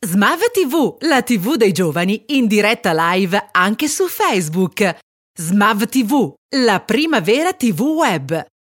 Smav TV, la TV dei giovani, in diretta live anche su Facebook. Smav TV, la prima vera TV web.